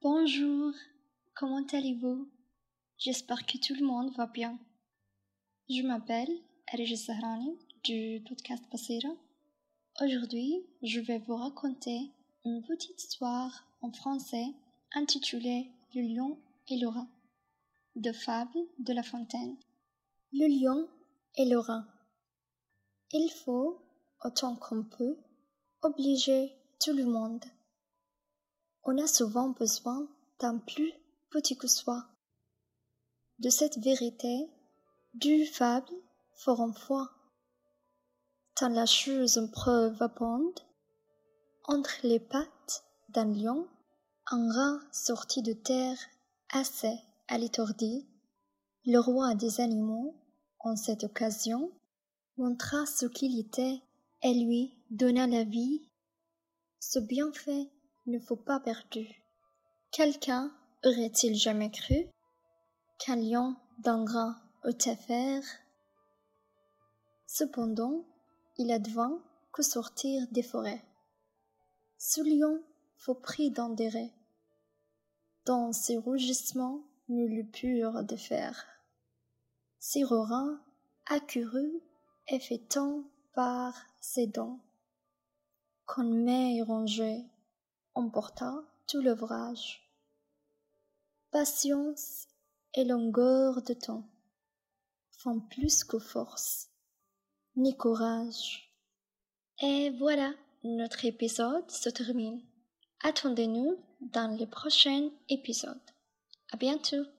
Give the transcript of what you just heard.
Bonjour, comment allez-vous? J'espère que tout le monde va bien. Je m'appelle Arij Sahrani du podcast Basira. Aujourd'hui, je vais vous raconter une petite histoire en français intitulée Le lion et le rat, de Fable de La Fontaine. Le lion et le rat. Il faut, autant qu'on peut, obliger tout le monde. On a souvent besoin d'un plus petit que soi. De cette vérité, deux fables feront foi. Tant la chose en preuve abonde, entre les pattes d'un lion, un rat sorti de terre assez à l'étourdi, le roi des animaux, en cette occasion, montra ce qu'il était et lui donna la vie. Ce bienfait ne fut pas perdu. Quelqu'un aurait-il jamais cru qu'un lion d'un rat eût à faire? Cependant, il advint qu'au sortir des forêts, ce lion fut pris d'un dérain, dont ses rugissements ne le purent défaire. Ses rat accourut et fit tant par ses dents, qu'une main rongée emporta tout l'ouvrage. Patience et longueur de temps font plus que force, ni courage. Et voilà, notre épisode se termine. Attendez-nous dans les prochains épisodes. À bientôt!